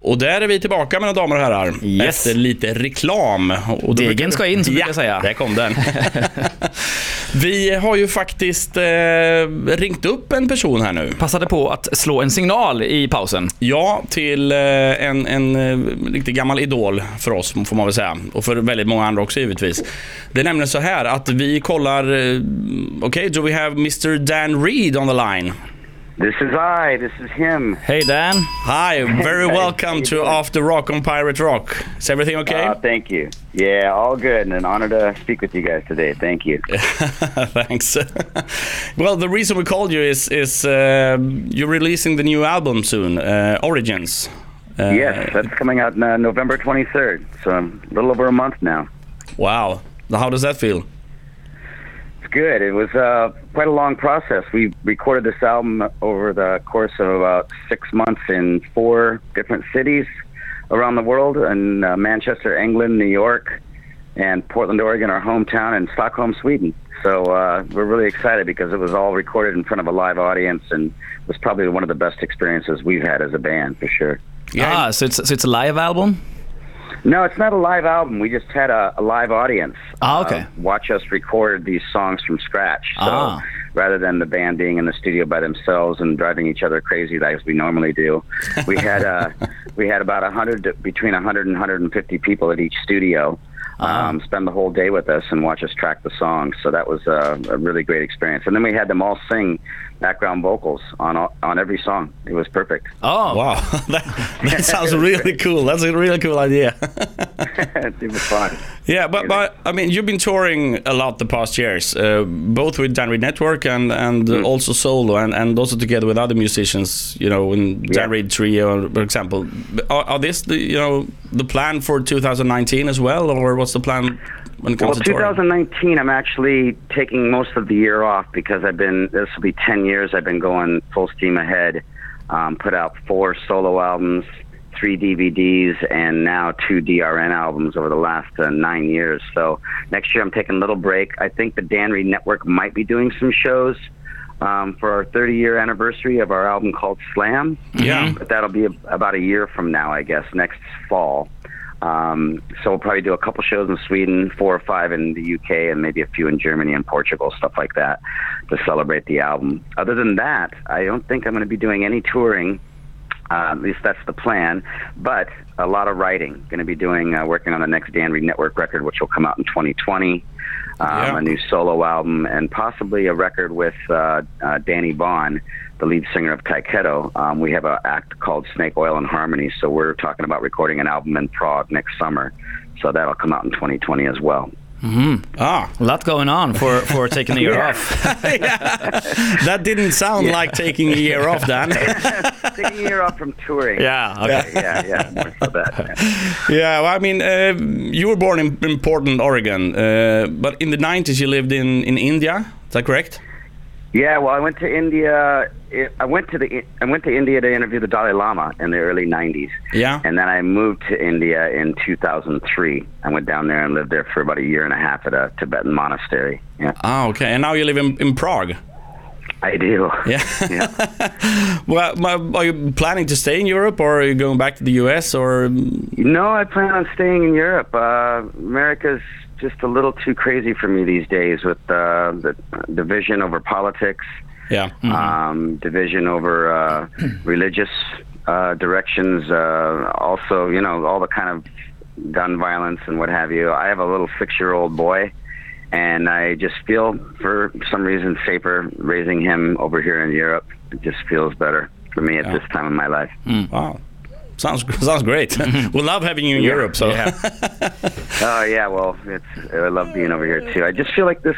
Och där är vi tillbaka, mina damer och herrar. Yes. Efter lite reklam. Och degen ska in, som brukar jag säga. Där kom den. Vi har ju faktiskt ringt upp en person här nu. Passade på att slå en signal i pausen. Ja, till en riktigt gammal idol för oss, får man väl säga. Och för väldigt många andra också, givetvis. Det är nämligen så här att vi kollar... Okej, do we have Mr. Dan Reed on the line? This is him. Hey Dan. Hi, very welcome to After Rock on Pirate Rock. Is everything okay? Thank you. Yeah, all good, and an honor to speak with you guys today. Thank you. Thanks. Well, the reason we called you is you're releasing the new album soon, Origins. Yes, that's coming out November 23rd, so a little over a month now. Wow. How does that feel? Good. It was quite a long process. We recorded this album over the course of about 6 months in 4 different cities around the world, in Manchester, England, New York, and Portland, Oregon, our hometown, and Stockholm, Sweden. So we're really excited because it was all recorded in front of a live audience, and was probably one of the best experiences we've had as a band, for sure. Yeah. So it's a live album? No, it's not a live album. We just had a live audience. Okay. Watch us record these songs from scratch. So rather than the band being in the studio by themselves and driving each other crazy like we normally do, we had about between 100 and 150 people at each studio. Spend the whole day with us and watch us track the songs. So that was a really great experience. And then we had them all sing background vocals on every song. It was perfect. Oh, wow. That sounds really cool. That's a really cool idea. It was fun. Yeah, but I mean, you've been touring a lot the past years, both with Dan Reed Network and also solo, and also together with other musicians, you know, in Dan Reed Trio, for example. Are this the plan for 2019 as well, or what's the plan when it comes to touring? 2019, I'm actually taking most of the year off because this will be 10 years I've been going full steam ahead. Put out 4 solo albums, 3 DVDs, and now 2 DRN albums over the last 9 years. So next year I'm taking a little break. I think the Dan Reed Network might be doing some shows for our 30-year anniversary of our album called Slam. Yeah. But that'll be about a year from now, I guess, next fall. So we'll probably do a couple shows in Sweden, 4 or 5 in the UK, and maybe a few in Germany and Portugal, stuff like that, to celebrate the album. Other than that, I don't think I'm going to be doing any touring. At least that's the plan. But a lot of writing. Going to be working on the next Dan Reed Network record, which will come out in 2020. A new solo album, and possibly a record with Danny Bond, the lead singer of Taiketo. We have an act called Snake Oil and Harmony, so we're talking about recording an album in Prague next summer. So that'll come out in 2020 as well. Mm-hmm. A lot going on for taking a year off. That didn't sound like taking a year off, Dan. Taking a year off from touring. Yeah, okay. Yeah, more so that. Yeah, well, I mean, you were born in Portland, Oregon, but in the 90s you lived in India. Is that correct? Yeah, well, I went to India. I went to India to interview the Dalai Lama in the early 90s. Yeah. And then I moved to India in 2003. I went down there and lived there for about a year and a half at a Tibetan monastery. Yeah. Oh, okay. And now you live in Prague. I do. Yeah. Well, are you planning to stay in Europe, or are you going back to the US, or? No, I plan on staying in Europe. America's just a little too crazy for me these days with the division over politics. Yeah. Mm-hmm. Division over religious directions. Also, all the kind of gun violence and what have you. I have a little 6-year-old boy, and I just feel, for some reason, safer raising him over here in Europe. It just feels better for me at this time in my life. Wow. Sounds great. We love having you in Europe. So. Yeah. Oh yeah, well, I love being over here too. I just feel like this.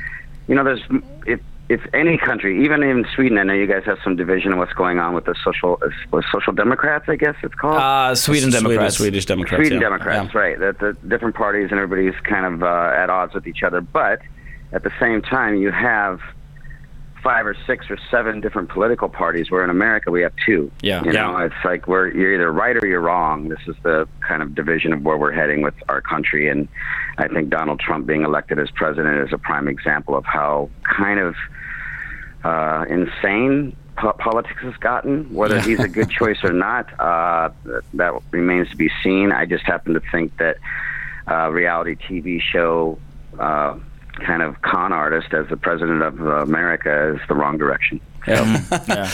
If any country, even in Sweden, I know you guys have some division of what's going on with the social democrats, I guess it's called. Sweden Democrats. Swedish Democrats. Sweden Democrats, right? That the different parties and everybody's kind of at odds with each other, but at the same time, you have 5 or 6 or 7 different political parties, where in America we have 2. It's like you're either right or you're wrong. This is the kind of division of where we're heading with our country, and I think Donald Trump being elected as president is a prime example of how kind of insane politics has gotten. Whether he's a good choice or not, that remains to be seen. I just happen to think that reality TV show kind of con artist as the president of America is the wrong direction. Yeah.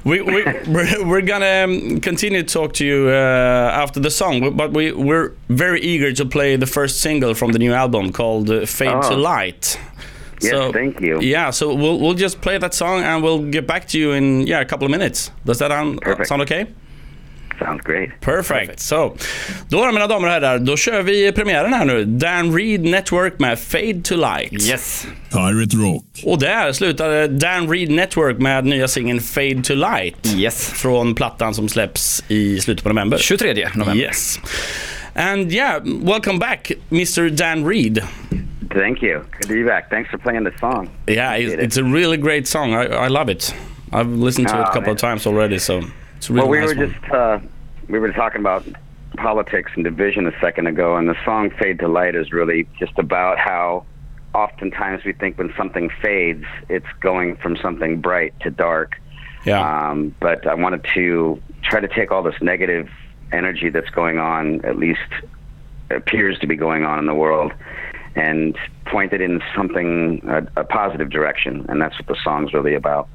We're gonna continue to talk to you after the song, but we're very eager to play the first single from the new album called Fade to Light. Yes, so, thank you. Yeah, so we'll just play that song and we'll get back to you in a couple of minutes. Does that sound okay? Sounds great. Perfect. Så, då mina damer och herrar, då kör vi premiären här nu. Dan Reed Network med Fade to Light. Yes. Pirate Rock. Och där slutade Dan Reed Network med nya singeln Fade to Light. Yes. Från plattan som släpps i slutet på november. 23 november. Yes. And yeah, welcome back, Mr. Dan Reed. Thank you. Good to be back. Thanks for playing the song. Yeah, it's a really great song. I love it. I've listened to it a couple of times already, so it's a really nice one. We were talking about politics and division a second ago, and the song Fade to Light is really just about how oftentimes we think when something fades, it's going from something bright to dark. Yeah. But I wanted to try to take all this negative energy that's going on, at least appears to be going on in the world, and point it in something, a positive direction, and that's what the song's really about.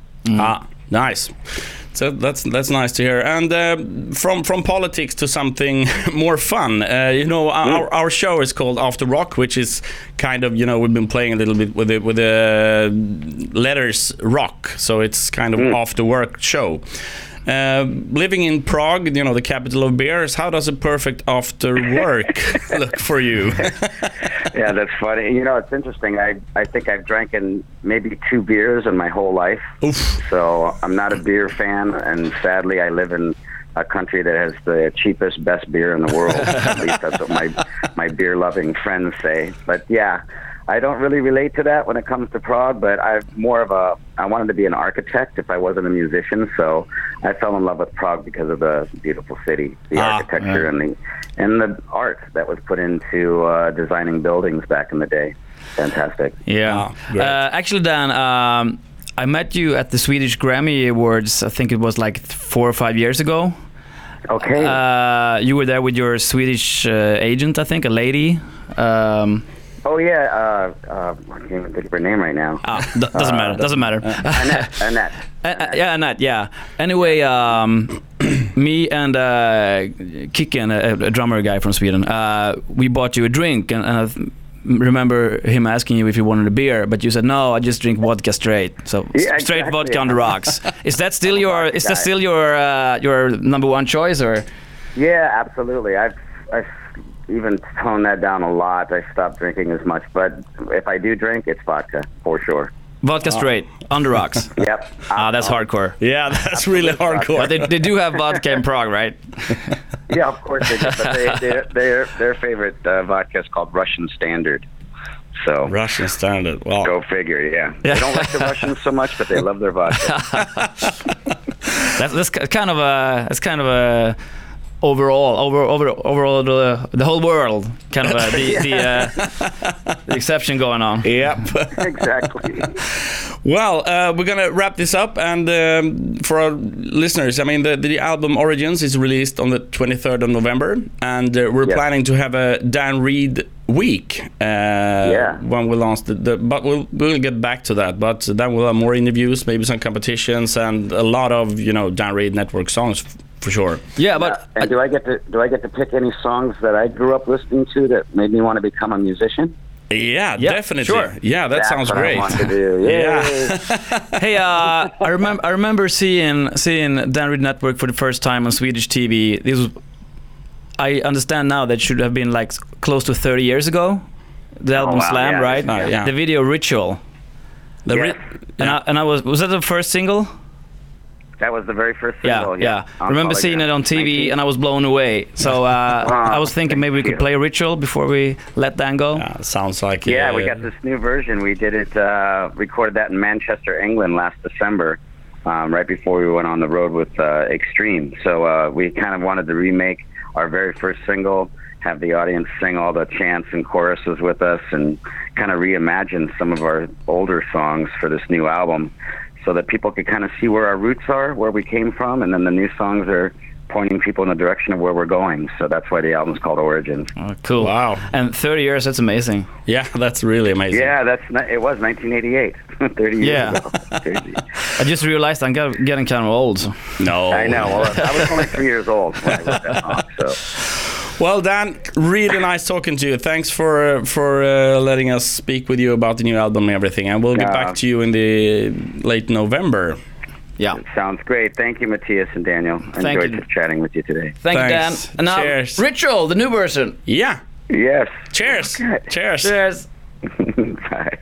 Nice. So that's nice to hear. And from politics to something more fun. Our show is called After Rock, which is kind of, we've been playing a little bit with the letters rock. So it's kind of after work show. Living in Prague, the capital of beers, how does a perfect after work look for you? Yeah, that's funny. It's interesting. I think I've drank in maybe 2 beers in my whole life. Oof. So I'm not a beer fan, and sadly I live in a country that has the cheapest, best beer in the world. At least that's what my beer-loving friends say. But yeah, I don't really relate to that when it comes to Prague, but I wanted to be an architect if I wasn't a musician, so I fell in love with Prague because of the beautiful city, the architecture, and the art that was put into designing buildings back in the day. Fantastic. Yeah. Actually, Dan, I met you at the Swedish Grammy Awards, I think it was like 4 or 5 years ago. Okay. You were there with your Swedish agent, I think, a lady. Oh yeah, I can't even think of her name right now. Doesn't matter. Annette. Yeah, Annette. Yeah. Anyway, me and Kicken, a drummer guy from Sweden, we bought you a drink, and I remember him asking you if you wanted a beer, but you said no. I just drink vodka straight. So straight vodka on the rocks. Is that still your number one choice, or? Yeah, absolutely. I've even toned that down a lot. I stopped drinking as much, but if I do drink, it's vodka for sure. Vodka straight on the rocks. Yep. That's hardcore. Yeah, that's really hardcore. But they do have vodka in Prague, right? Yeah, of course they do. But their favorite vodka is called Russian Standard. So Russian Standard. Well, go figure. Yeah. They don't like the Russians so much, but they love their vodka. That's kind of a overall the whole world kind of the exception going on. Yep. Exactly. Well, we're gonna wrap this up, and for our listeners, I mean, the album Origins is released on the 23rd of November, and we're planning to have a Dan Reed week when we launch but we'll get back to that. But then we'll have more interviews, maybe some competitions, and a lot of Dan Reed Network songs. For sure. Yeah, but and do I get to pick any songs that I grew up listening to that made me want to become a musician? Yeah, definitely. Sure. Yeah, that's sounds great. I want to do. Yeah. Hey, I remember seeing Dan Reed Network for the first time on Swedish TV. This was, I understand now, that should have been like close to 30 years ago. The album Slam, right? Yeah. The video Ritual. Was that the first single? That was the very first single. Yeah. I remember seeing it on TV, and I was blown away. So I was thinking maybe we could play Ritual before we let Dan go. Sounds like it. Yeah, we got this new version. We did it, recorded that in Manchester, England last December, right before we went on the road with Extreme. So we kind of wanted to remake our very first single, have the audience sing all the chants and choruses with us, and kind of reimagine some of our older songs for this new album. So so that people could kind of see where our roots are, where we came from, and then the new songs are pointing people in the direction of where we're going. So that's why the album's called Origins. Oh, cool. Wow. And 30 years, that's amazing. Yeah, that's really amazing. Yeah, it was 1988, 30 years Yeah. ago. Crazy. I just realized I'm getting kind of old. No. I know. Well, I was only 3 years old when I wrote that song, so. Well, Dan, really nice talking to you. Thanks for letting us speak with you about the new album and everything. And we'll get back to you in the late November. Yeah. Sounds great. Thank you, Matthias and Daniel. I enjoyed chatting with you today. Thank you, Dan. Thanks. And now, Cheers. Ritual, the new version. Yeah. Yes. Cheers. Okay. Cheers. Cheers. Bye.